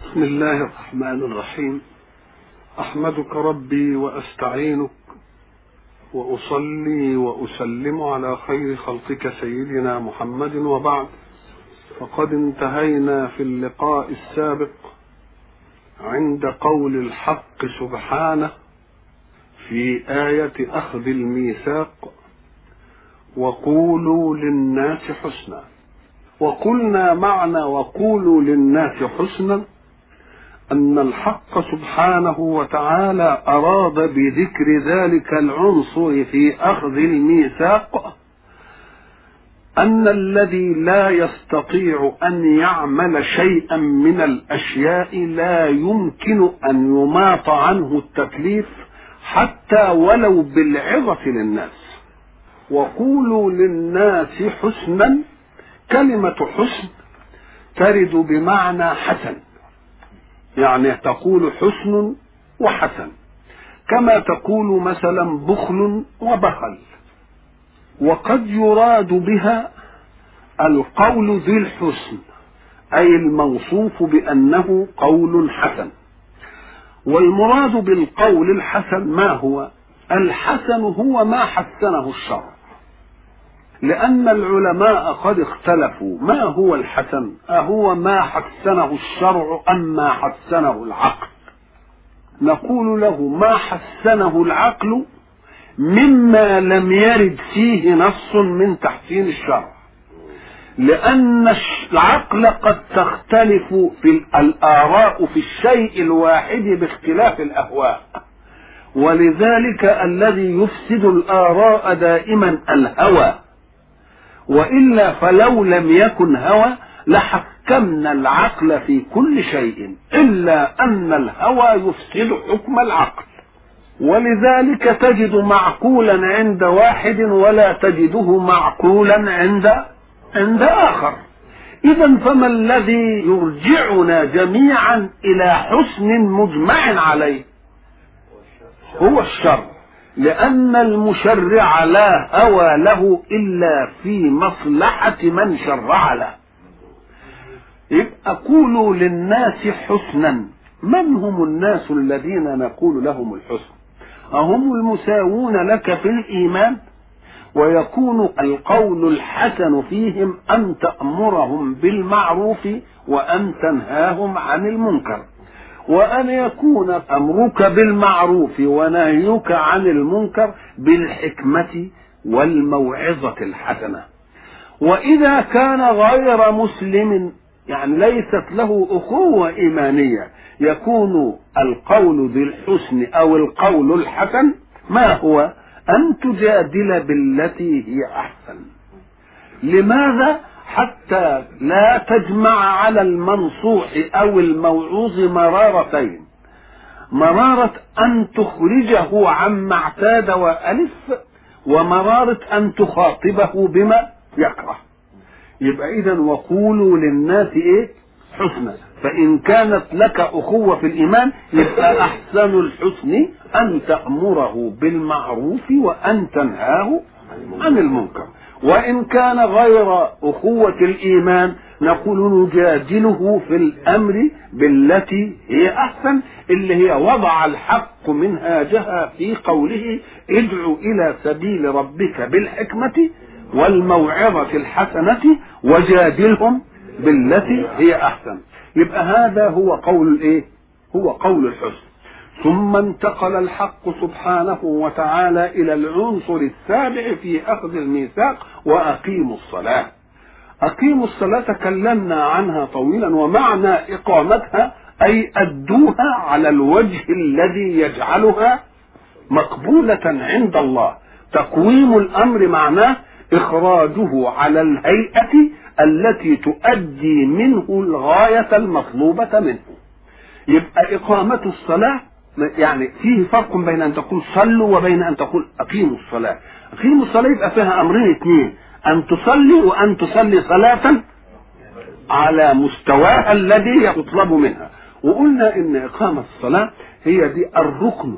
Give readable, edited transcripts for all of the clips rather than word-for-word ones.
بسم الله الرحمن الرحيم. أحمدك ربي وأستعينك وأصلي وأسلم على خير خلقك سيدنا محمد، وبعد، فقد انتهينا في اللقاء السابق عند قول الحق سبحانه في آية أخذ الميثاق: وقولوا للناس حسنا. وقلنا معنى وقولوا للناس حسنا أن الحق سبحانه وتعالى أراد بذكر ذلك العنصر في أخذ الميثاق أن الذي لا يستطيع أن يعمل شيئا من الأشياء لا يمكن أن يماط عنه التكليف حتى ولو بالعظة للناس. وقولوا للناس حسنا، كلمة حسن ترد بمعنى حسن، يعني تقول حسن وحسن، كما تقول مثلا بخل وبخل. وقد يراد بها القول ذي الحسن، أي الموصوف بأنه قول حسن. والمراد بالقول الحسن ما هو؟ الحسن هو ما حسنه الشرع، لأن العلماء قد اختلفوا ما هو الحسن، أهو ما حسنه الشرع أم ما حسنه العقل؟ نقول له ما حسنه العقل مما لم يرد فيه نص من تحسين الشرع، لأن العقل قد تختلف في الآراء في الشيء الواحد باختلاف الأهواء، ولذلك الذي يفسد الآراء دائما الهوى، وإلا فلو لم يكن هوى لحكمنا العقل في كل شيء، إلا أن الهوى يفسد حكم العقل. ولذلك تجد معقولا عند واحد ولا تجده معقولا عند آخر. إذا فما الذي يرجعنا جميعا إلى حسن مجمع عليه؟ هو الشرع، لأن المشرع لا هوى له إلا في مصلحة من شرع له. يبقى قولوا للناس حسنا. من هم الناس الذين نقول لهم الحسن؟ أهم المساوون لك في الإيمان، ويكون القول الحسن فيهم أن تأمرهم بالمعروف وأن تنهاهم عن المنكر، وأن يكون أمرك بالمعروف ونهيك عن المنكر بالحكمة والموعظة الحسنة. وإذا كان غير مسلم، يعني ليست له أخوة إيمانية، يكون القول ذي الحسن أو القول الحسن ما هو؟ أن تجادل بالتي هي أحسن. لماذا؟ حتى لا تجمع على المنصوح أو الموعوظ مرارتين: مرارة أن تخرجه عما اعتاد وألف، ومرارة أن تخاطبه بما يكره. يبقى إذن وقولوا للناس إيه؟ حسنا. فإن كانت لك أخوة في الإيمان يبقى أحسن الحسن أن تأمره بالمعروف وأن تنهاه عن المنكر. وإن كان غير أخوة الإيمان نقول نجادله في الأمر بالتي هي أحسن، اللي هي وضع الحق منهاجها في قوله: ادع إلى سبيل ربك بالحكمة والموعظة الحسنة وجادلهم بالتي هي أحسن. يبقى هذا هو قول الإيه؟ هو قول الحسن. ثم انتقل الحق سبحانه وتعالى إلى العنصر السابع في أخذ الميثاق: وأقيموا الصلاة. أقيموا الصلاة تكلمنا عنها طويلا، ومعنى إقامتها أي أدوها على الوجه الذي يجعلها مقبولة عند الله. تقويم الأمر معناه إخراجه على الهيئة التي تؤدي منه الغاية المطلوبة منه. يبقى إقامة الصلاة يعني فيه فرق بين أن تقول صلوا وبين أن تقول أقيموا الصلاة. أقيموا الصلاة يبقى فيها أمرين اثنين: أن تصلي وأن تصلي صلاة على مستواها الذي يطلب منها. وقلنا إن إقامة الصلاة هي دي الركن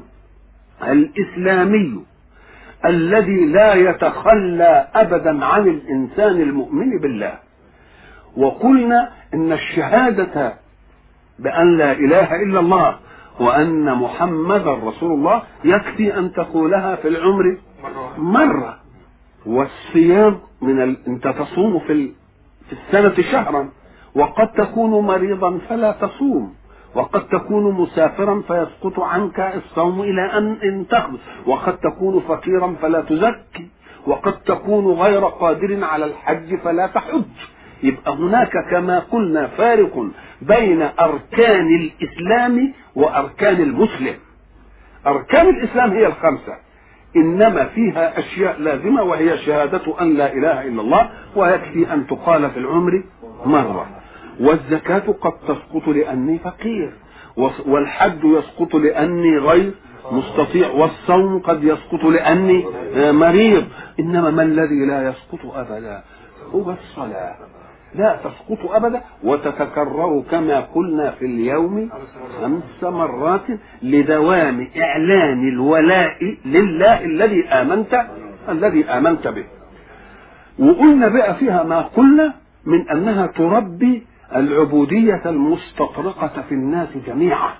الإسلامي الذي لا يتخلى أبدا عن الإنسان المؤمن بالله. وقلنا إن الشهادة بأن لا إله إلا الله وأن محمد رسول الله يكفي أن تقولها في العمر مرة. والصيام أنت تصوم في السنة شهرا، وقد تكون مريضا فلا تصوم، وقد تكون مسافرا فيسقط عنك الصوم إلى أن تخلص، وقد تكون فقيرا فلا تزكي، وقد تكون غير قادر على الحج فلا تحج. يبقى هناك كما قلنا فارق بين أركان الإسلام وأركان المسلم. أركان الإسلام هي الخمسة، إنما فيها أشياء لازمة وهي شهادة أن لا إله إلا الله، ويكفي أن تقال في العمر مرة. والزكاة قد تسقط لأني فقير، والحج يسقط لأني غير مستطيع، والصوم قد يسقط لأني مريض. إنما ما الذي لا يسقط أبدا هو الصلاة، لا تسقط أبدا، وتتكرر كما قلنا في اليوم 5 مرات لدوام إعلان الولاء لله الذي آمنت به. وقلنا بقى فيها ما قلنا من أنها تربي العبودية المستطرقة في الناس جميعا.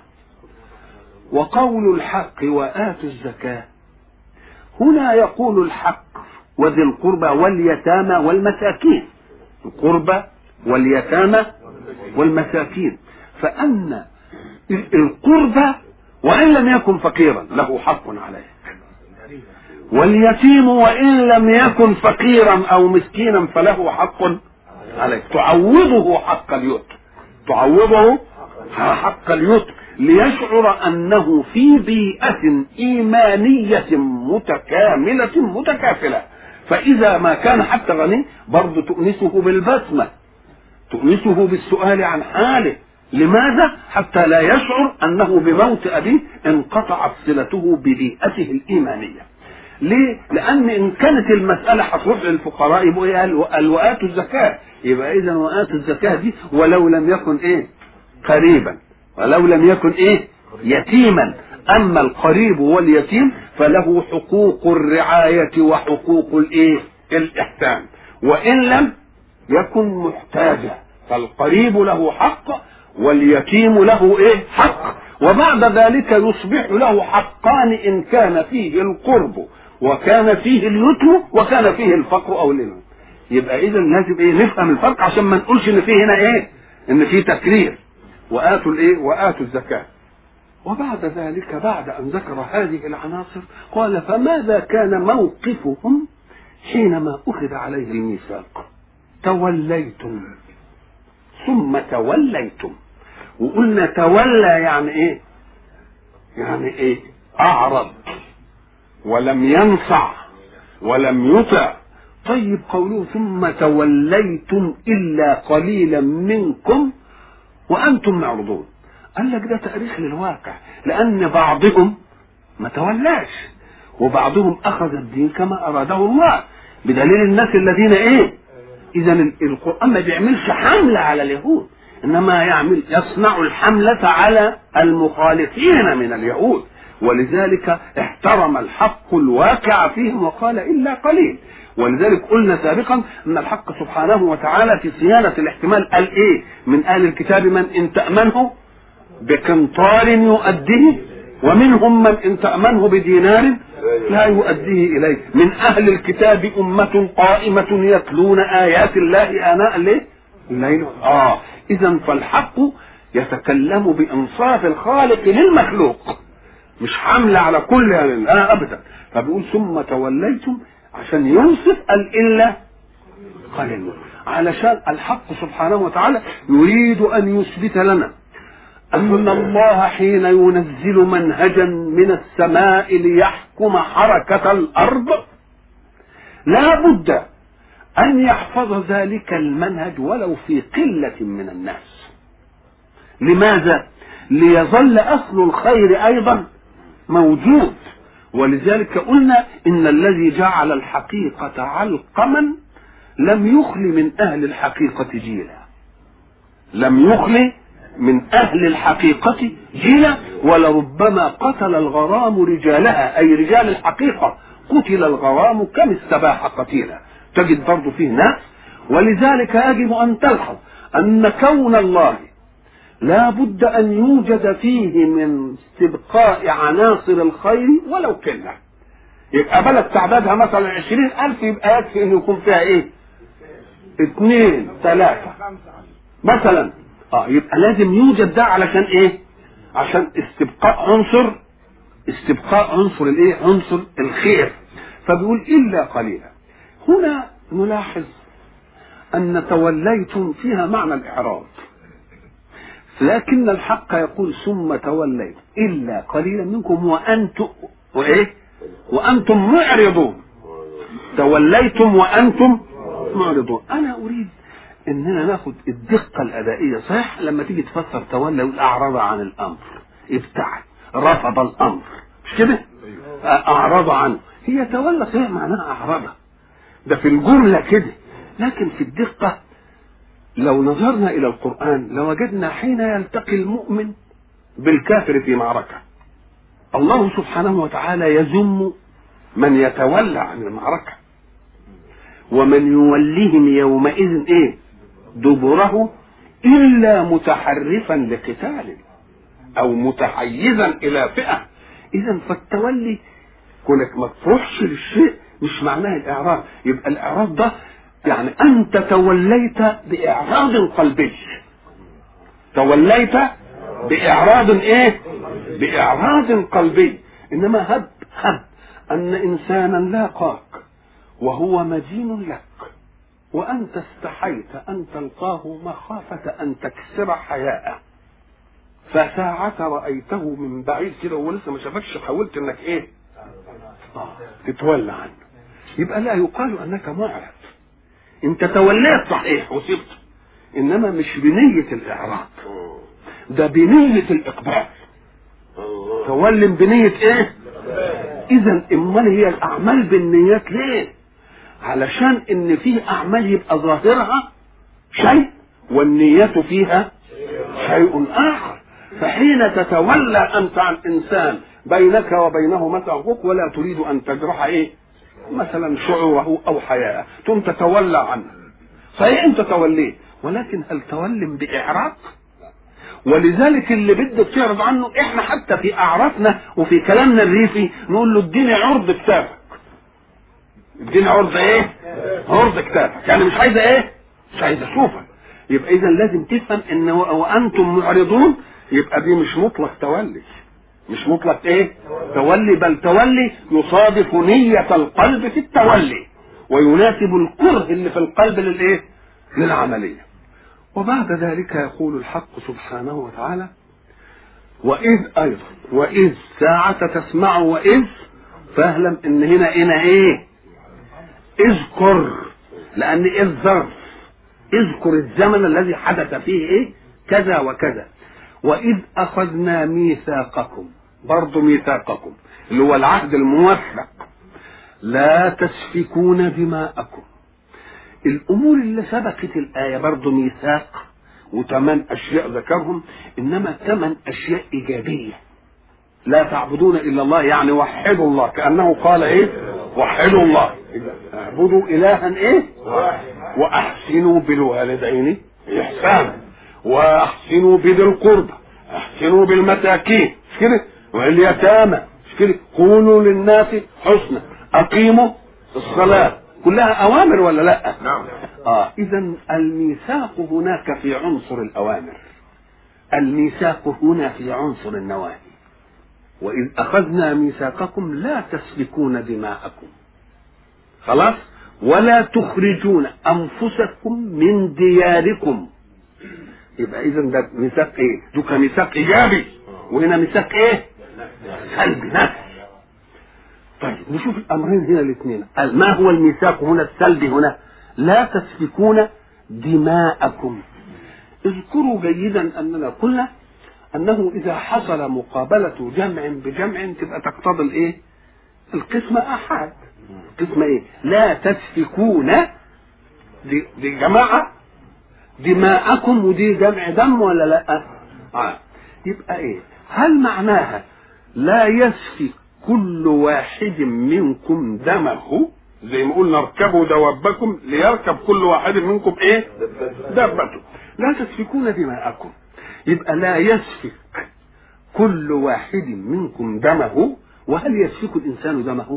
وقول الحق وآتوا الزكاة، هنا يقول الحق وذي القربى واليتامى والمساكين، القربى واليتامى والمساكين، فأن القربى وإن لم يكن فقيرا له حق عليه، واليتيم وإن لم يكن فقيرا أو مسكينا فله حق عليه. تعوضه حق اليتم، تعوضه حق اليتم، ليشعر أنه في بيئة إيمانية متكاملة متكافلة. فإذا ما كان حتى غني برضه تؤنسه بالبسمة، تؤنسه بالسؤال عن حاله. لماذا؟ حتى لا يشعر أنه بموت أبيه انقطعت صلته ببيئته الإيمانية. ليه؟ لأن إن كانت المسألة هتروح للفقراء يبقوا قال وآتوا الزكاة، يبقى إذا وآتوا الزكاة دي ولو لم يكن قريبا، ولو لم يكن يتيما. أما القريب واليتيم فله حقوق الرعاية وحقوق الإحسان، وإن لم يكن محتاجا فالقريب له حق واليتيم له حق. وبعد ذلك يصبح له حقان إن كان فيه القرب وكان فيه اليتم وكان فيه الفقر أو الإنم. يبقى إذا لازم نفهم الفرق عشان ما نقولش إن فيه هنا إن فيه تكرير. وآتوا الزكاة. وبعد ذلك بعد أن ذكر هذه العناصر قال فماذا كان موقفهم حينما أخذ عليه الميثاق؟ توليتم ثم توليتم. وقلنا تولى يعني يعني أعرض ولم ينصع ولم يطع. طيب قوله ثم توليتم إلا قليلا منكم وأنتم معرضون، قال لك ده تاريخ للواقع، لأن بعضهم ما تولاش وبعضهم أخذ الدين كما أراده الله، بدليل الناس الذين إذا القرآن ما بيعملش حملة على اليهود، إنما يصنع الحملة على المخالفين من اليهود. ولذلك احترم الحق الواقع فيهم وقال إلا قليل. ولذلك قلنا سابقا أن الحق سبحانه وتعالى في صيانة الاحتمال قال من أهل الكتاب من إن تأمنه بقنطار يؤديه، ومنهم من إن تأمنه بدينار لا يؤديه إليه. من أهل الكتاب أمة قائمة يتلون آيات الله آناء الليل. إذا فالحق يتكلم بإنصاف الخالق للمخلوق، مش حملة على كل أبدا. فبيقول ثم توليتم عشان يوصف الإلا قليل، علشان الحق سبحانه وتعالى يريد أن يثبت لنا أن الله حين ينزل منهجا من السماء ليحكم حركة الأرض لا بد أن يحفظ ذلك المنهج ولو في قلة من الناس. لماذا؟ ليظل أصل الخير أيضا موجود. ولذلك قلنا إن الذي جعل الحقيقة علقما لم يخل من أهل الحقيقة جيلا، لم يخل من أهل الحقيقة جيلا، ولربما قتل الغرام رجالها، أي رجال الحقيقة قتل الغرام كم استباح قتيلا. تجد برضو فيه ناس. ولذلك يجب أن تلحظ أن كون الله لا بد أن يوجد فيه من استبقاء عناصر الخير ولو كلها. يبقى بلد تعدادها مثلا 20,000 يبقى يكفي أن يكون فيها إيه؟ 2 3 مثلا. يبقى لازم يوجد ده علشان إيه؟ عشان استبقاء عنصر الإيه؟ عنصر الخير. فبيقول إلا قليلا. هنا نلاحظ أن توليتم فيها معنى الإعراض، لكن الحق يقول ثم توليتم إلا قليلا منكم وأنتم معرضون. توليتم وأنتم معرضون. أنا أريد أننا ناخد الدقة الأدائية. صحيح لما تيجي تفسر تولى والأعرض عن الأمر، ابتعد، رفض الأمر، مش كده؟ أعرض عنه. هي تولى صحيح معناها أعرض، ده في الجملة كده، لكن في الدقة لو نظرنا إلى القرآن لوجدنا حين يلتقي المؤمن بالكافر في معركة الله سبحانه وتعالى يذم من يتولى عن المعركة، ومن يوليهم يومئذ إيه؟ دبره إلا متحرفا لقتال أو متحيزا إلى فئة. إذا فالتولي كونك ما تروحش للشيء مش معناه الإعراض. يبقى الإعراض ده يعني أنت توليت بإعراض قلبي، توليت بإعراض إيه؟ بإعراض قلبي. إنما هب أن إنسانا لاقاك وهو مدين لك وأنت استحيت أن تلقاه مخافة أن تكسر حياءه، فساعة رأيته من بعيد كده وهو لسه ما شافكش حاولت إنك إيه؟ تتولى عنه. يبقى لا يقال أنك معرض، انت توليت صحيح وصبت، انما مش بنية الاعراض، ده بنية الاقبال. تولي بنية ايه؟ اذا امال هي الاعمال بالنيات ليه؟ علشان ان فيه اعمال يبقى ظاهرها شيء والنية فيها شيء اخر. فحين تتولى انت عن انسان بينك وبينه مثلا حقوق ولا تريد ان تجرح ايه؟ مثلا شعوره او حياءه، ثم تتولى عنه. صحيح انت توليه، ولكن هل تولم باعراض؟ ولذلك اللي بدك تعرض عنه احنا حتى في اعرافنا وفي كلامنا الريفي نقول له اديني عرض كتابك. اديني عرض ايه؟ عرض كتابك، يعني مش عايزه ايه؟ مش عايزه اشوفك. يبقى اذا لازم تفهم ان وانتم معرضون، يبقى دي مش مطلق تولي، مش مطلق ايه؟ تولي، بل تولي يصادف نية القلب في التولي ويناسب الكره اللي في القلب للايه؟ للعملية. وبعد ذلك يقول الحق سبحانه وتعالى وإذ ساعة تسمع وإذ، فاعلم ان هنا ايه؟ اذكر، لان إذ ظرف، اذكر الزمن الذي حدث فيه ايه؟ كذا وكذا. وإذ أخذنا ميثاقكم، برضو ميثاقكم اللي هو العهد الموثق، لا تسفكون دماءكم. الأمور اللي سبقت الآية برضو ميثاق وثمان أشياء ذكرهم، إنما 8 أشياء إيجابية. لا تعبدون إلا الله، يعني وحدوا الله، كأنه قال إيه؟ وحدوا الله، اعبدوا إلها إيه؟ وأحسنوا بالوالدين إحسانا، واحسنوا بذي القربى، احسنوا بالمساكين، مش كده؟ واليتامى، مش كده؟ قولوا للناس حسنا، اقيموا الصلاه، كلها اوامر ولا لا؟ نعم. اذا الميثاق هناك في عنصر الاوامر، الميثاق هنا في عنصر النواهي. واذ اخذنا ميثاقكم لا تسفكون دماءكم، خلاص، ولا تخرجون انفسكم من دياركم. يبقى اذا ده ميثاق ايه؟ ده ميثاق ايجابي، وهنا ميثاق ايه؟ سلبي، نفسي. طيب نشوف الامرين هنا الاثنين. ما هو الميثاق هنا السلبي؟ هنا لا تسفكون دماءكم. اذكروا جيدا اننا قلنا انه اذا حصل مقابله جمع بجمع تبقى تقتضي الايه؟ القسمه احاد. القسمه ايه؟ لا تسفكون، دي جماعه، دماءكم، ودي جمع دم ولا لا؟ يبقى ايه؟ هل معناها لا يسفك كل واحد منكم دمه، زي ما قلنا اركبوا دوابكم ليركب كل واحد منكم ايه؟ دابته. لا تسفكون دماءكم، يبقى لا يسفك كل واحد منكم دمه. وهل يسفك الإنسان دمه؟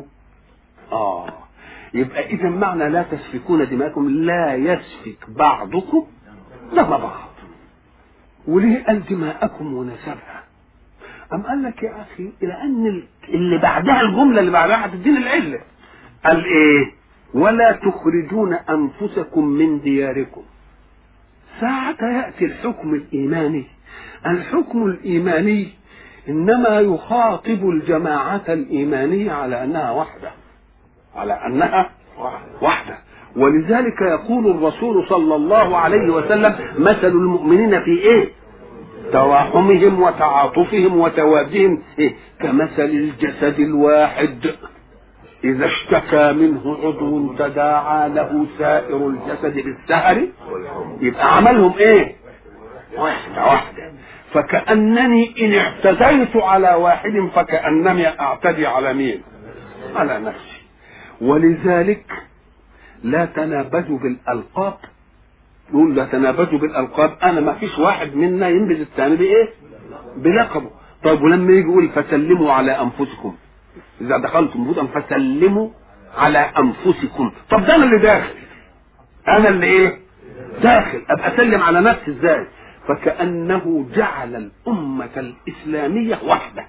يبقى إذا معنى لا تسفكون دماءكم لا يسفك بعضكم دم بعض. وليه قال دماءكم ونسبها؟ أم قال لك يا أخي لأن اللي بعدها الجملة اللي بعدها هتديني العلة. قال إيه؟ ولا تخرجون أنفسكم من دياركم. ساعة يأتي الحكم الإيماني. الحكم الإيماني إنما يخاطب الجماعة الإيمانية على أنها وحدة، على أنها وحدة. ولذلك يقول الرسول صلى الله عليه وسلم مثل المؤمنين في إيه؟ تراحمهم وتعاطفهم وتوادهم إيه؟ كمثل الجسد الواحد إذا اشتكى منه عضو تداعى له سائر الجسد بالسهر. يبقى عملهم إيه؟ واحدة. فكأنني إن اعتديت على واحد فكأنني أعتدي على مين؟ على نفسي. ولذلك لا تنابزوا بالألقاب. يقول لا تنابزوا بالألقاب. أنا ما فيش واحد منا ينبذ الثاني بإيه؟ بلقبه. طيب ولما يجي يقول فسلموا على أنفسكم إذا دخلتم بيوتا فسلموا على أنفسكم. طب ده أنا اللي داخل، أنا اللي إيه؟ داخل. أبقى أسلم على نفسي إزاي؟ فكأنه جعل الأمة الإسلامية وحدة.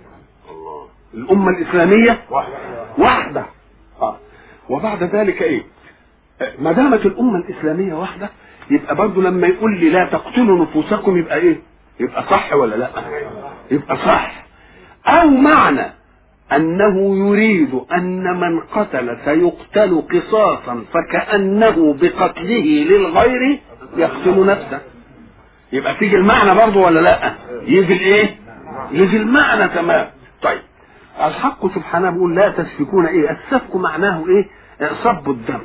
الأمة الإسلامية وحدة. وبعد ذلك إيه؟ ما دامت الأمة الإسلامية وحدة يبقى برضو لما يقول لي لا تقتلوا نفوسكم يبقى إيه؟ يبقى صح ولا لا؟ يبقى صح. أو معنى أنه يريد أن من قتل سيقتل قصاصا فكأنه بقتله للغير يقتل نفسه. يبقى تيجي المعنى برضو ولا لا؟ يجي الايه؟ يجي المعنى تمام. طيب الحق سبحانه بيقول لا تسفكون ايه؟ السفك معناه ايه؟ صب الدم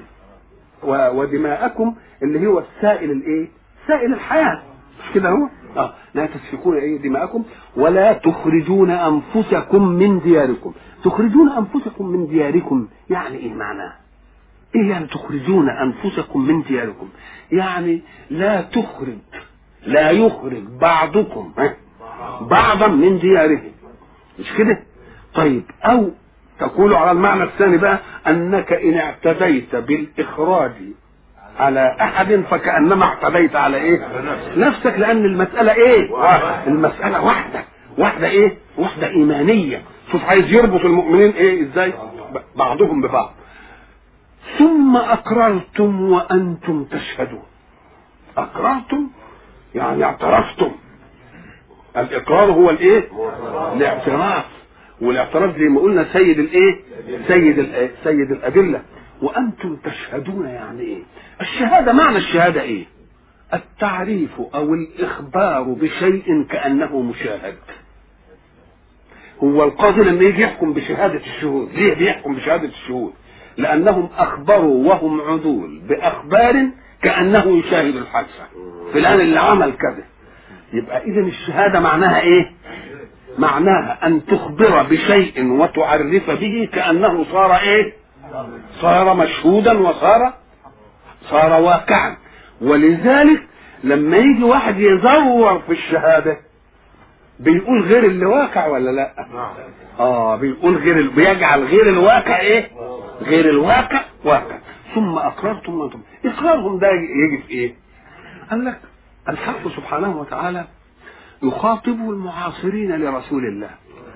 ودماءكم اللي هو السائل الايه؟ سائل الحياة. مش كده هو؟ لا تسفكون ايه؟ دماءكم ولا تخرجون انفسكم من دياركم. تخرجون انفسكم من دياركم يعني ايه معناه؟ ايه يعني تخرجون انفسكم من دياركم؟ يعني لا يخرج بعضكم بعضا من دياره. مش كده؟ طيب او تقول على المعنى الثاني بقى انك ان اعتديت بالاخراج على احد فكأنما اعتديت على ايه؟ نفسك. لان المسألة ايه؟ المسألة واحدة ايه؟ واحدة ايمانية. شوف عايز يربط المؤمنين ايه ازاي؟ بعضهم ببعض. ثم اقررتم وانتم تشهدون. اقررتم يعني اعترفتم. الاقرار هو الايه؟ الاعتراف. والاعتراف زي ما قلنا سيد الايه؟ سيد الادله. وانتم تشهدون يعني ايه؟ الشهاده معنى الشهاده ايه؟ التعريف او الاخبار بشيء كانه مشاهد. هو القاضي لما يجي يحكم بشهاده الشهود ليه بيحكم بشهاده الشهود؟ لانهم اخبروا وهم عدول باخبار كانه يشاهد الحادثه فلان اللي عمل كذا. يبقى اذا الشهاده معناها ايه؟ معناها ان تخبر بشيء وتعرف به كانه صار ايه؟ صار مشهودا صار واقعا. ولذلك لما يجي واحد يزور في الشهاده بيقول غير اللي واقع ولا لا؟ بيقول بيجعل غير الواقع ايه؟ غير الواقع واقع. ثم اقررتم وانتم. اقرارهم ده يجي في ايه؟ قال لك الحق سبحانه وتعالى يخاطب المعاصرين لرسول الله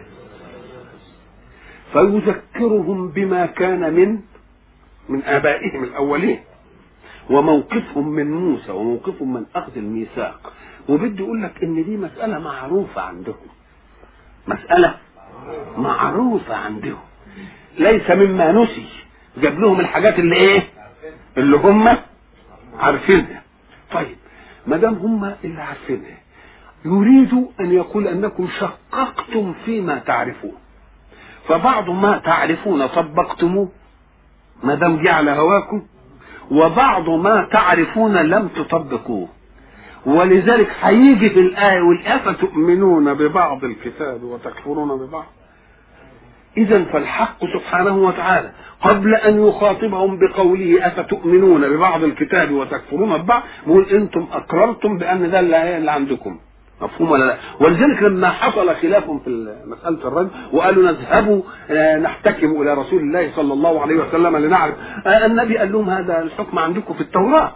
فيذكرهم بما كان من آبائهم الأولين وموقفهم من موسى وموقفهم من أخذ الميثاق. وبدي يقول لك إن دي مسألة معروفة عندهم، مسألة معروفة عندهم ليس مما نسي. جاب لهم الحاجات اللي ايه؟ اللي هم عارفينها. طيب ما دام هم اللي عارفينها يريد ان يقول انكم شققتم فيما تعرفون، فبعض ما تعرفون طبقتموه ما دام جه على هواكم، وبعض ما تعرفون لم تطبقوه. ولذلك هيجي في الآية والآية فتؤمنون ببعض الكتاب وتكفرون ببعض. إذن فالحق سبحانه وتعالى قبل أن يخاطبهم بقوله أفتؤمنون ببعض الكتاب وتكفرون ببعض بيقول أنتم أقررتم بأن ده اللي عندكم مفهوم ولا لا؟ ولذلك لما حصل خلاف في مسألة الرجم وقالوا نذهب نحتكم إلى رسول الله صلى الله عليه وسلم لنعرف، النبي قال لهم هذا الحكم عندكم في التوراة.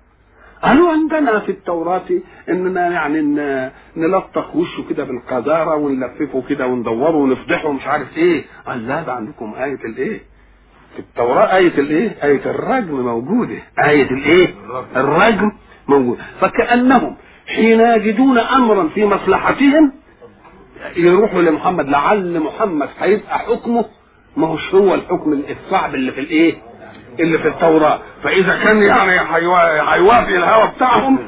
قالوا عندنا في التوراة اننا يعني نلطخ وشه كده بالقذارة ونلففه كده وندوره ونفضحه ومش عارف ايه. قال لا، ده عندكم آية الايه في التوراة، آية الايه، آية الرجم موجودة، آية الايه الرجم موجودة. فكأنهم حين يجدون امرا في مصلحتهم يروحوا لمحمد، لعل محمد هيبقى حكمه ما هوش هو الحكم الصعب اللي في الايه اللي في التوراة، فاذا كان يعني هيوافق الهوى بتاعهم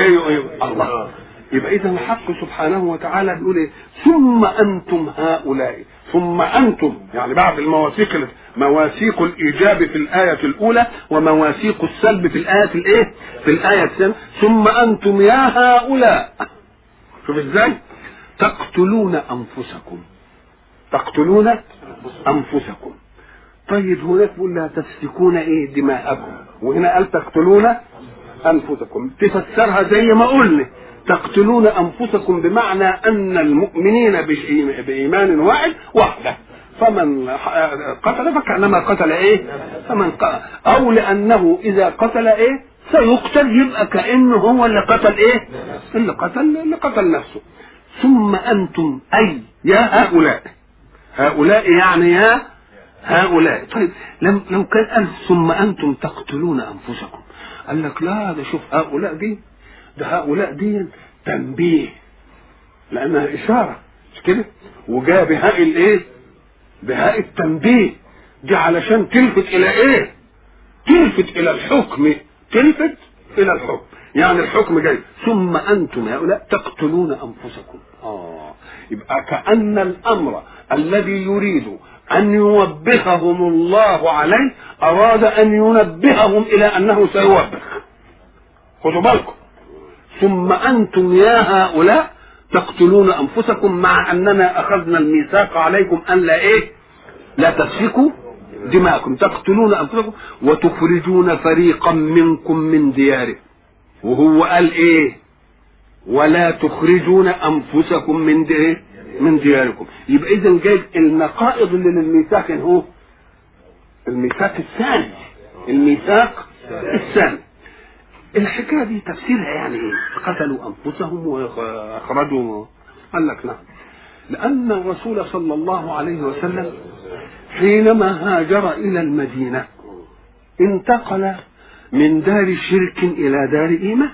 الله. يبقى اذا الحق سبحانه وتعالى بيقول ايه؟ ثم انتم هؤلاء، ثم انتم يعني بعد المواثيق، مواثيق الايجاب في الايه الاولى ومواثيق السلب في الايه الايه في الايه الثانيه، ثم انتم يا هؤلاء. شوف ازاي تقتلون انفسكم، تقتلون انفسكم. طيب هناك بيقول لا تسفكون ايه دماءكم، وهنا قال تقتلون انفسكم. تفسرها زي ما قلنا، تقتلون انفسكم بمعنى ان المؤمنين بايمان واحد وحده، فمن قتل فكانما قتل ايه، فمن قتل او لانه اذا قتل ايه سيقتل، يبقى كانه هو اللي قتل ايه، اللي قتل نفسه. ثم انتم اي يا هؤلاء، هؤلاء يعني يا هؤلاء. طيب لو كان قال ثم انتم تقتلون انفسكم، قال لك لا، ده شوف هؤلاء دي، ده هؤلاء دي تنبيه لانها اشاره مش كده، وجاء بهاء الايه، بهاء التنبيه دي علشان تلفت الى ايه، تلفت الى الحكم، تلفت الى الحكم. يعني الحكم جاي ثم انتم هؤلاء تقتلون انفسكم. يبقى كأن الامر الذي يريد ان يوبخهم الله عليه اراد ان ينبههم الى انه سيوبخ. خذوا بالكم، ثم انتم يا هؤلاء تقتلون انفسكم، مع اننا اخذنا الميثاق عليكم ان لا ايه، لا تسفكوا دماءكم، تقتلون انفسكم وتخرجون فريقا منكم من دياركم. وهو قال ايه؟ ولا تخرجون انفسكم من دياركم. يبقى اذا جاي النقائض اللي للميثاق هو الميثاق الثاني، الميثاق الثاني. الحكايه دي تفسيرها يعني ايه؟ قتلوا انفسهم واخرجوا، قال لك نعم، لان الرسول صلى الله عليه وسلم حينما هاجر الى المدينه انتقل من دار شرك الى دار ايمان.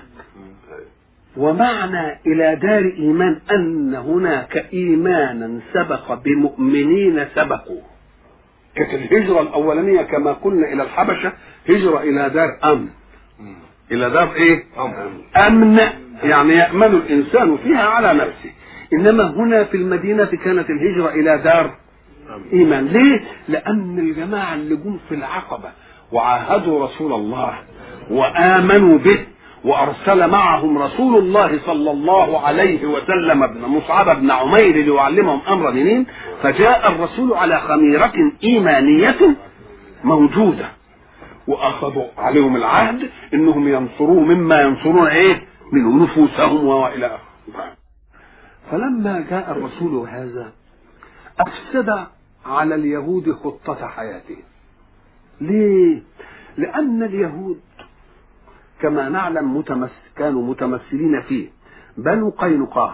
ومعنى الى دار ايمان ان هناك ايمانا سبق بمؤمنين سبقوا. كانت الهجره الاولانيه كما قلنا الى الحبشه هجره الى دار امن، الى دار ايه، امن، يعني يامن الانسان فيها على نفسه. انما هنا في المدينه كانت الهجره الى دار ايمان. ليه؟ لان الجماعه اللي جم في العقبه وعاهدوا رسول الله وامنوا به وارسل معهم رسول الله صلى الله عليه وسلم ابن مصعب بن عمير ليعلمهم امر دينين، فجاء الرسول على خميرة ايمانية موجودة، واخذوا عليهم العهد انهم ينصروه مما ينصرون ايه من نفوسهم والى اخره. فلما جاء الرسول هذا افسد على اليهود خطة حياتهم. ليه؟ لان اليهود كما نعلم كانوا متمثلين فيه بنو قينقاع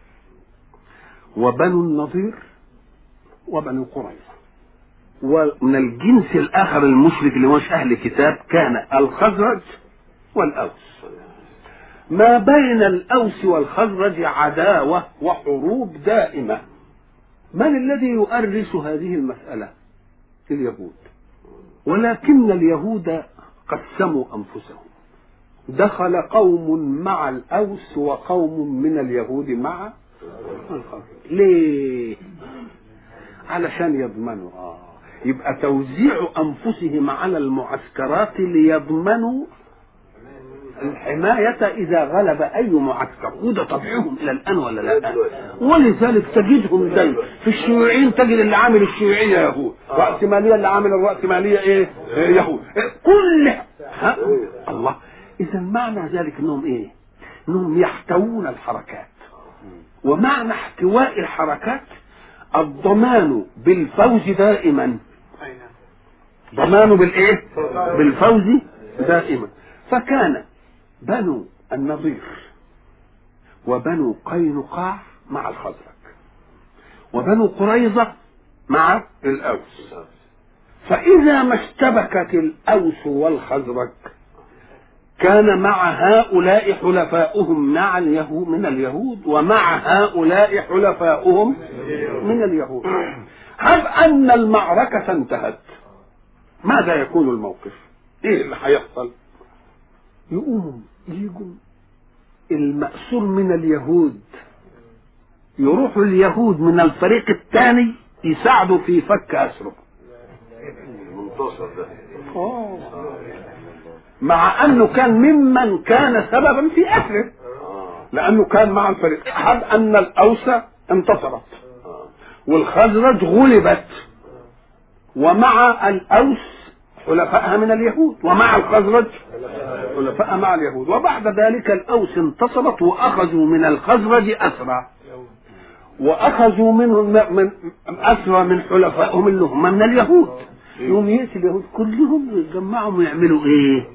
وبنو النضير وبنو قريظة، ومن الجنس الآخر المشرك اللي مش أهل كتاب كان الخزرج والأوس. ما بين الأوس والخزرج عداوة وحروب دائمة. من الذي يؤرس هذه المسألة؟ اليهود. ولكن اليهود قسموا أنفسهم، دخل قوم مع الأوس وقوم من اليهود مع الخزرج. ليه؟ علشان يضمنوا يبقى توزيع أنفسهم على المعسكرات ليضمنوا الحماية إذا غلب أي معسكر، وده طبعهم إلى الآن ولا لا؟ ولذلك تجدهم دايما في الشيوعيين، تجد اللي عامل الشيوعية يهود، رأسمالية اللي عامل الرأسمالية إيه؟ يهود، كل الله. إذا معنى ذلك إنهم إيه؟ إنهم يحتوون الحركات ومعنى احتواء الحركات الضمان بالفوز دائما، ضمان بالايه؟ بالفوز دائما. فكان بنو النضير وبنو قينقاع مع الخزرج، وبنو قريظة مع الأوس. فإذا ما اشتبكت الأوس والخزرج كان مع هؤلاء حلفاؤهم مع اليهود من اليهود، ومع هؤلاء حلفاؤهم من اليهود. هب أن المعركة انتهت، ماذا يكون الموقف؟ ايه اللي هيحصل؟ يقوم يجوا المأسور من اليهود، يروحوا اليهود من الفريق الثاني يساعدوا في فك أسره. منتصر ده مع انه كان ممن كان سببا في أسره، لانه كان مع الفريق. هب ان الأوس انتصرت والخزرج غلبت، ومع الأوس حلفائها من اليهود، ومع الخزرج حلفائها مع اليهود. وبعد ذلك الأوس انتصرت وأخذوا من الخزرج أسرى، وأخذوا من أسرى من حلفائهم اللي هم من اليهود. يوم يأتي اليهود كلهم يتجمعوا ويعملوا إيه؟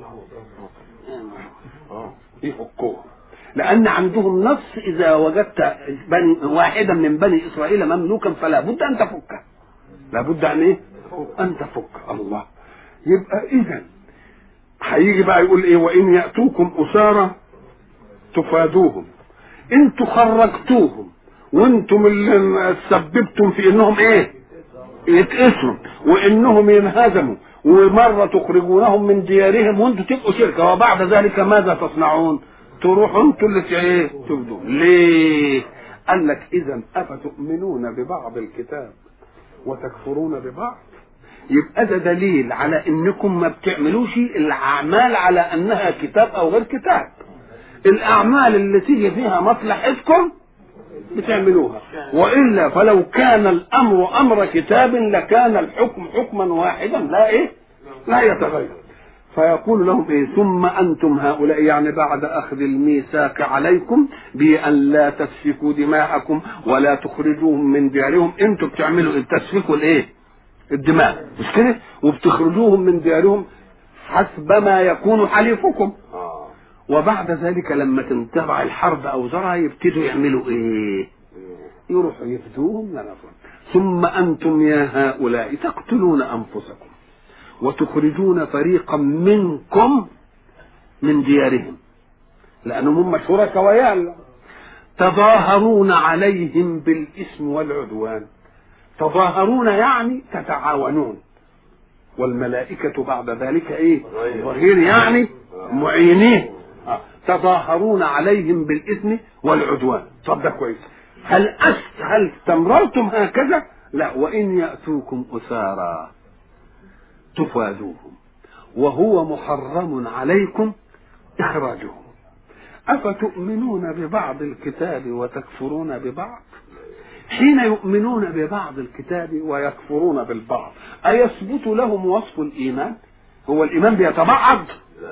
يفكوه، لأن عندهم نص إذا وجدت واحدا من بني إسرائيل مملوكا فلا بد أن تفكه، لا بد أن إيه؟ أن تفك. الله. يبقى إذا هيجي بقى يقول إيه؟ وإن يأتوكم أسارى تفادوهم، انتوا خرجتوهم وانتم اللي سببتم في انهم ايه؟ يتأسروا وانهم ينهزموا، ومرة تخرجونهم من ديارهم وانتم تبقوا شركة، وبعد ذلك ماذا تصنعون؟ تروحوا انتوا اللي ايه؟ تفدوا. ليه؟ قال لك اذا افتؤمنون ببعض الكتاب وتكفرون ببعض. يبقى ده دليل على انكم ما بتعملوش الاعمال على انها كتاب او غير كتاب. الاعمال اللي تيجي فيها مصلحتكم بتعملوها، والا فلو كان الامر امر كتاب لكان الحكم حكما واحدا لا ايه؟ لا يتغير. فيقول لهم ايه؟ ثم انتم هؤلاء، يعني بعد اخذ الميثاق عليكم بان لا تسفكوا دماءكم ولا تخرجوهم من ديارهم، انتم بتعملوا ايه؟ تسفكوا الايه؟ الدماء، مش كده؟ وبتخرجوهم من ديارهم حسب ما يكون حليفكم. وبعد ذلك لما تنتبع الحرب اوزارها يبتدوا يعملوا ايه؟ يروحوا يفدوهم لنفسهم. ثم انتم يا هؤلاء تقتلون انفسكم وتخرجون فريقا منكم من ديارهم، لانهم هم شركاء ويانا، تظاهرون عليهم بالاثم والعدوان. تظاهرون يعني تتعاونون، والملائكة بعد ذلك ايه؟ ظهير، يعني معينين. تظاهرون عليهم بالإثم والعدوان. طب ده كويس. هل استمررتم هكذا؟ لا. وإن يأتوكم أسارى تفادوهم وهو محرم عليكم إخراجهم. أفتؤمنون ببعض الكتاب وتكفرون ببعض؟ حين يؤمنون ببعض الكتاب ويكفرون بالبعض أيثبت لهم وصف الإيمان؟ هو الإيمان بيتبعض؟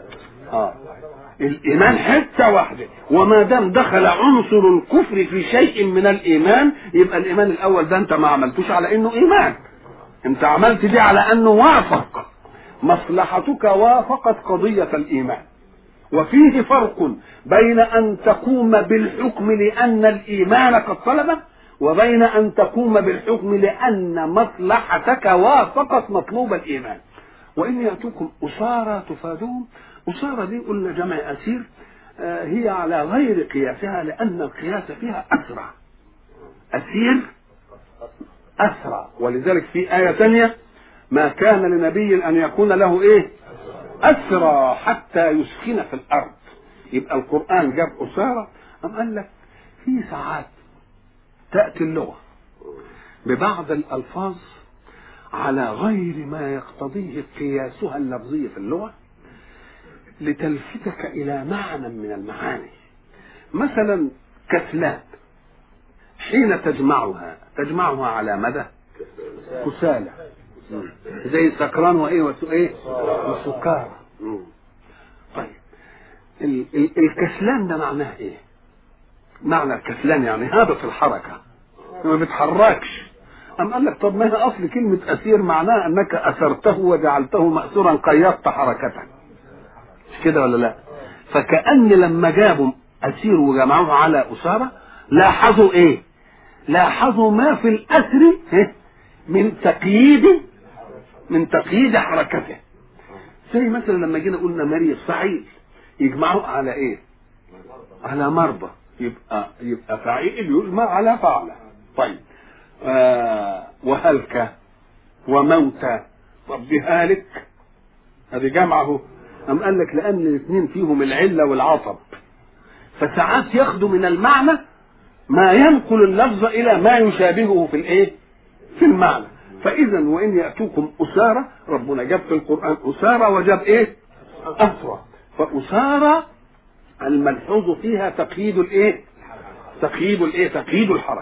الإيمان حتة واحدة، وما دام دخل عنصر الكفر في شيء من الإيمان يبقى الإيمان الأول ده أنت ما عملتوش على إنه إيمان، أنت عملت دي على أنه وافق مصلحتك، وافقت قضية الإيمان. وفيه فرق بين أن تقوم بالحكم لأن الإيمان قد طلبه، وبين أن تقوم بالحكم لأن مصلحتك وافقت مطلوب الإيمان. وإن يأتوكم أسارى تفادوهم، أسارى دي قلنا جمع أسير، هي على غير قياسها لأن القياس فيها أسرى، أسير أسرى. ولذلك في آية ثانية ما كان لنبي أن يكون له إيه؟ أسرى حتى يسكن في الأرض. يبقى القرآن جاب أسارى. أم قال لك في ساعات تأتي اللغة ببعض الألفاظ على غير ما يقتضيه قياسها اللفظي في اللغة لتلفتك إلى معنى من المعاني. مثلا كسلان حين تجمعها على مدى كسالى، زي سكران وإيه وسكارى. طيب الكسلان ده معناه إيه؟ معنى الكسلان يعني هابط الحركة ما بيتحركش. أم قال لك طب ما هي أصل كلمة أسير معناها أنك أسرته وجعلته مأسورا قيدت حركته، مش كده ولا لا؟ فكأن لما جابوا أسير وجمعوه على أسارة لاحظوا إيه؟ لاحظوا ما في الأسر من تقييد حركته. زي مثلا لما جينا قلنا مريض فعيل يجمعوه على إيه؟ على مرضى، يبقى فعيل يجمع على فعلة. طيب وهلك وموتى، طب دي هالك هذه جمعه. أم قال لك لأن الاثنين فيهم العلة والعطب، فساعات ياخدوا من المعنى ما ينقل اللفظ إلى ما يشابهه في الإيه؟ في المعنى. فإذا وإن يأتوكم أسارى، ربنا جاب في القرآن أسارى وجاب إيه؟ أسرى. فأسارى الملحوظ فيها تقييد الإيه؟ تقييد الحركة.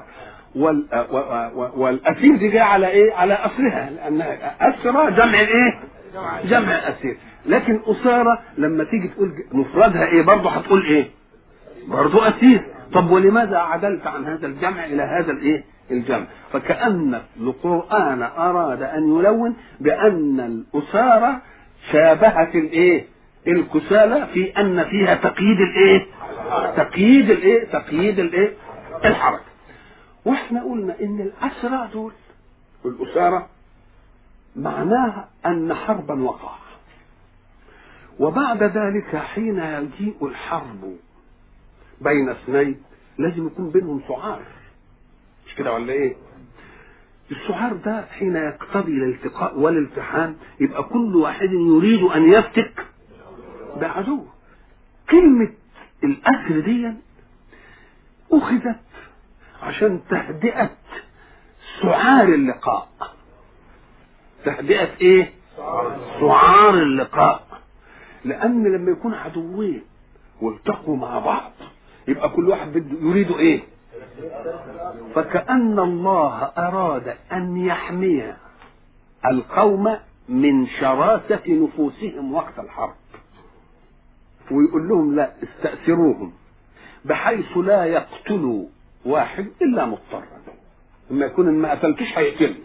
والأسير دي جاء على إيه؟ على أصلها، لأنها أسرى جمع إيه؟ جمع أسير. لكن أسارة لما تيجي تقول مفردها إيه برضه هتقول إيه؟ برضه أسير. طب ولماذا عدلت عن هذا الجمع إلى هذا الإيه؟ الجمع. فكأن القرآن أراد أن يلون بأن الأسارة شابهت الإيه؟ الكسالى في أن فيها تقييد الإيه؟ الحركة. واحنا قلنا ان الأسرى دول والأسارة معناها ان حربا وقع، وبعد ذلك حين يجيء الحرب بين اثنين لازم يكون بينهم سعار، مش كده ولا ايه؟ السعار ده حين يقتضي الالتقاء والالتحام يبقى كل واحد يريد ان يفتك بعدوه. كلمة الأسر دي أخذت عشان تهدئة سعار اللقاء. تهدئة ايه؟ سعار اللقاء. لأن لما يكون عدوين والتقوا مع بعض يبقى كل واحد بده يريد ايه؟ فكأن الله أراد أن يحمي القوم من شراسة نفوسهم وقت الحرب، ويقول لهم لا استأثروهم بحيث لا يقتلوا واحد إلا مضطرا. لما يكون ما قتلتش هيقتلني،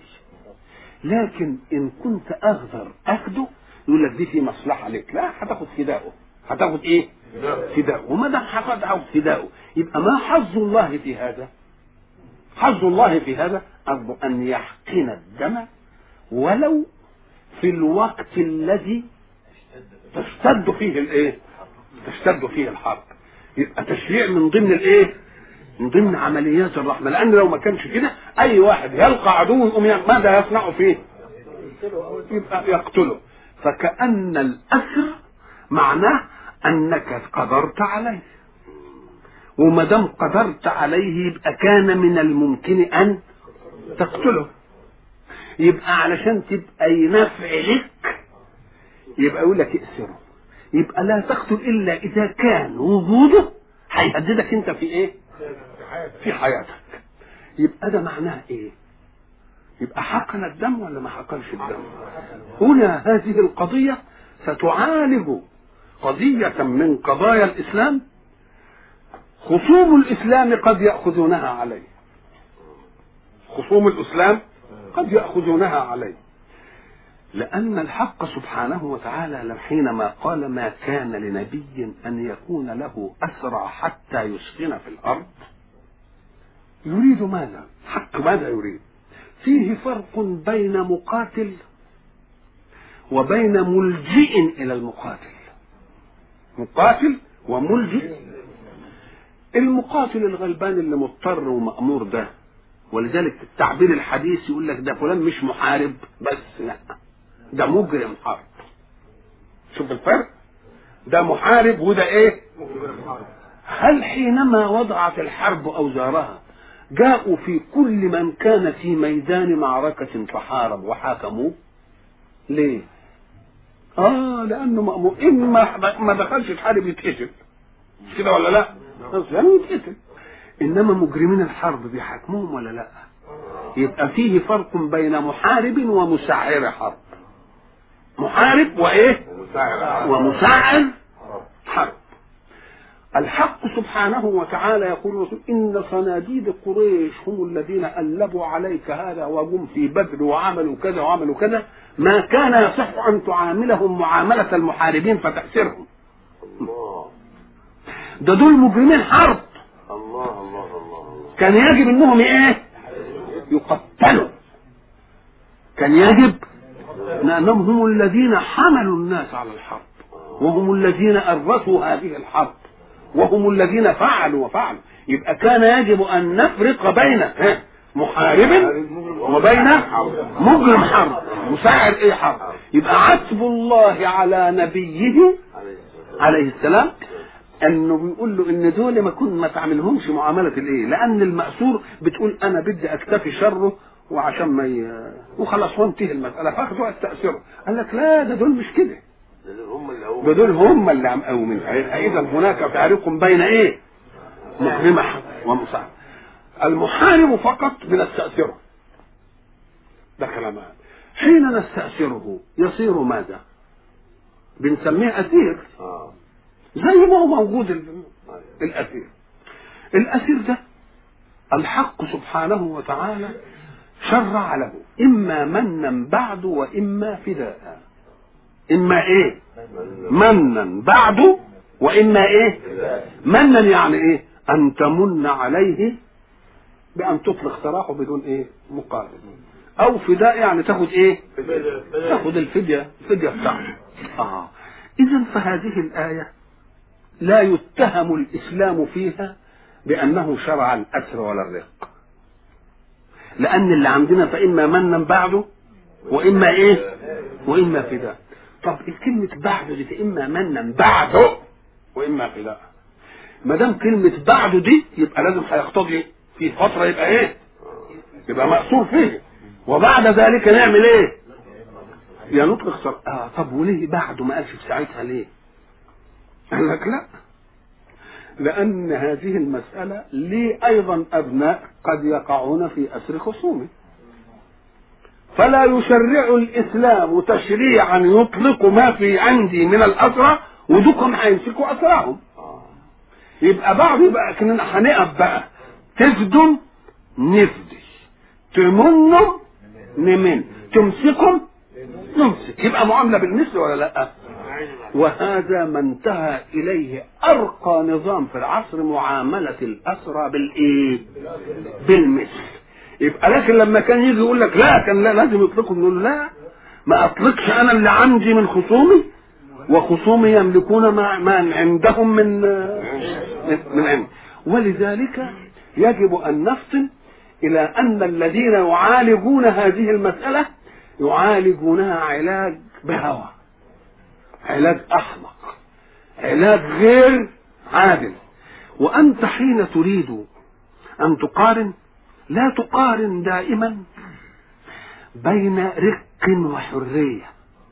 لكن إن كنت أقدر أخده يقول لك دي في مصلحة لك، لا هتاخد فداؤه. هتاخد إيه؟ فداؤه. وما دام هتاخد فداؤه يبقى ما حظ الله في هذا؟ حظ الله في هذا أن يحقن الدم ولو في الوقت الذي تشتد فيه الإيه؟ تشتد فيه الحرب. يبقى تشريع من ضمن الإيه؟ من ضمن عمليات الرحمة. لأن لو ما كانش كده أي واحد يلقى عدو يقوم ماذا يصنع فيه؟ يبقى يقتله. فكأن الأسر معناه أنك قدرت عليه، وما دام قدرت عليه يبقى كان من الممكن أن تقتله. يبقى علشان تبقى ينفع لك يبقى يقول لك ائسره. يبقى لا تقتل إلا إذا كان وجوده هيهددك أنت في إيه؟ في حياتك. يبقى ده معناه ايه؟ يبقى حقن الدم ولا ما حقنش الدم؟ هنا هذه القضية ستعالج قضية من قضايا الإسلام خصوم الإسلام قد يأخذونها عليه. خصوم الإسلام قد يأخذونها عليه، لأن الحق سبحانه وتعالى حينما قال ما كان لنبي أن يكون له أسرى حتى يسخن في الأرض يريد ماذا؟ حق ماذا يريد؟ فيه فرق بين مقاتل وبين ملجئ إلى المقاتل. مقاتل وملجئ. المقاتل الغلبان اللي مضطر ومأمور ده، ولذلك التعبير الحديث يقول لك ده فلان مش محارب بس، لا ده مجرم حرب. شوف الفرق، ده محارب وده ايه؟ هل حينما وضعت الحرب أوزارها جاءوا في كل من كان في ميدان معركة فحارب وحاكموه؟ ليه؟ لأنه مأمور. إما ما دخلش الحرب يتقتل، مش كده ولا لا؟ يعني يتقتل. إنما مجرمين الحرب بيحاكموهم ولا لا؟ يبقى فيه فرق بين محارب ومسعر حرب. محارب وإيه؟ ومسعر حرب. الحق سبحانه وتعالى يقول الرسول إن صناديد قريش هم الذين ألبوا عليك هذا وجم في بدر وعملوا كذا وعملوا كذا، ما كان يصح أن تعاملهم معاملة المحاربين فتأسرهم. الله دول مجرمين حرب. الله الله الله. كان يجب انهم ايه؟ يقتلوا. كان يجب لانهم هم الذين حملوا الناس على الحرب، وهم الذين أرثوا هذه الحرب، وهم الذين فعلوا وفعلوا. يبقى كان يجب ان نفرق بين محارب وبين مجرم حرب، مساعد ايه حرب. يبقى عتب الله على نبيه عليه السلام انه بيقول له ان دول ما تعملهمش معامله الايه، لان المأسور بتقول انا بدي اكتفي شره وعشان ما وخلاص وانتهي المساله، فاخدوا التأثير. قال لك لا، ده دول مش كده، ده دول هم اللي عم قومين. اذا هناك فارق بين ايه؟ مجرمه ومساعد. المحارب فقط بنستأثره، ده كلام. حين نستأثره يصير ماذا؟ بنسميه أسير، زي ما هو موجود الأسير. الأسير ده الحق سبحانه وتعالى شرع له إما منا بعد وإما فداء. إما إيه؟ منا بعد وإما إيه؟ منا يعني إيه؟ أن تمن عليه بأن تطلق سراحه بدون إيه؟ مقابل. أو فداء يعني تاخد إيه؟ تاخد الفدية بتاعته. إذن فهذه الآية لا يتهم الإسلام فيها بأنه شرع الأسر ولا الرق، لأن اللي عندنا فإما منا بعده وإما إيه؟ وإما فداء. طب الكلمة بعده دي فإما منا بعده وإما فداء، ما دام كلمة بعده دي يبقى لازم هيقتضي في فترة يبقى إيه؟ يبقى مأسور فيه، وبعد ذلك نعمل إيه؟ يا نطلق طب وليه بعده ما قالش في ساعتها ليه؟ قال لك لا، لأن هذه المسألة لي أيضا أبناء قد يقعون في أسر خصومه، فلا يشرع الإسلام تشريعا يطلق ما في عندي من الأسرى ودكم هيمسكوا أسراهم. يبقى بعض يبقى كنا هنقف بقى تفدوا نفدي، تمنوا نمن، تمسكم نمسك، يبقى معاملة بالمثل ولا لا؟ وهذا ما انتهى إليه أرقى نظام في العصر، معاملة الأسرى بالإيه؟ بالمثل. يبقى لكن لما كان يجي يقول لك لا كان لا لازم يطلقوا، نقول لا، ما أطلقش أنا اللي عندي من خصومي، وخصومي يملكون ما عندهم من عندي. ولذلك يجب أن نفطن إلى أن الذين يعالجون هذه المسألة يعالجونها علاج بهوى، علاج أحمق، علاج غير عادل. وأنت حين تريد أن تقارن لا تقارن دائما بين رق وحرية،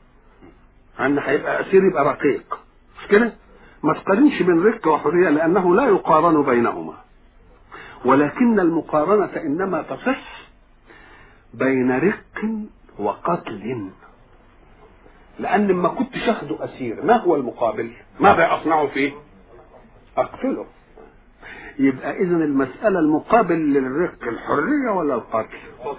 أن هيبقى أسير يبقى رقيق، مش كده؟ ما تقارنش بين رق وحرية لأنه لا يقارن بينهما، ولكن المقارنة إنما تصح بين رق وقتل. لأن لما كنت شاهده أسير ما هو المقابل؟ ماذا أصنع فيه؟ أقتله. يبقى إذن المسألة المقابل للرق الحرية ولا القتل؟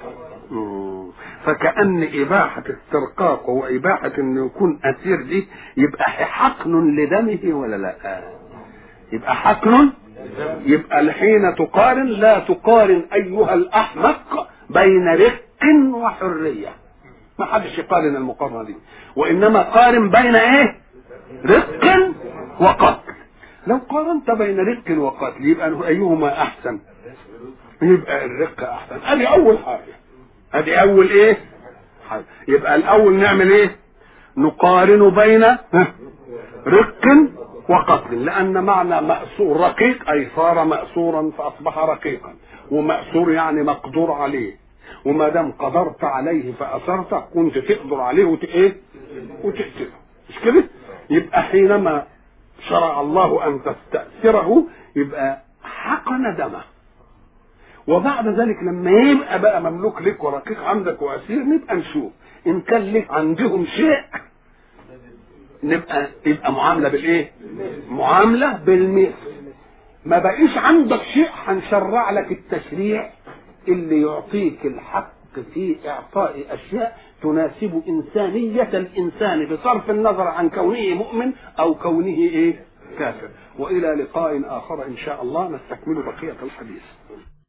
فكأن إباحة استرقاقه وإباحة أنه يكون أسير دي يبقى حقن لدمه ولا لا؟ يبقى حقن. يبقى حين تقارن لا تقارن أيها الأحمق بين رق وحرية، ما حدش يقارن المقارنة دي، وإنما قارن بين إيه؟ رق وقتل. لو قارنت بين رق وقتل يبقى أيهما أحسن؟ يبقى الرق أحسن. أدي أول حاجة، أدي أول إيه؟ حاجة. يبقى الأول نعمل إيه؟ نقارن بين رق وقتل، لأن معنى مأسور رقيق أي صار مأسورا فأصبح رقيقا، ومأسور يعني مقدور عليه، وما دام قدرت عليه فأسرت كنت تقدر عليه وتقتله، مش كده؟ يبقى حينما شرع الله أن تستأثره يبقى حقن دمه، وبعد ذلك لما يبقى بقى مملوك لك ورقيق عندك وأسير نبقى نشوف إن كان لك عندهم شيء يبقى معامله بالايه؟ معامله بالمثل. ما بقيش عندك شيء هنشرع لك التشريع اللي يعطيك الحق في اعطاء اشياء تناسب انسانيه الانسان بصرف النظر عن كونه مؤمن او كونه ايه؟ كافر. والى لقاء اخر ان شاء الله نستكمل بقيه الحديث.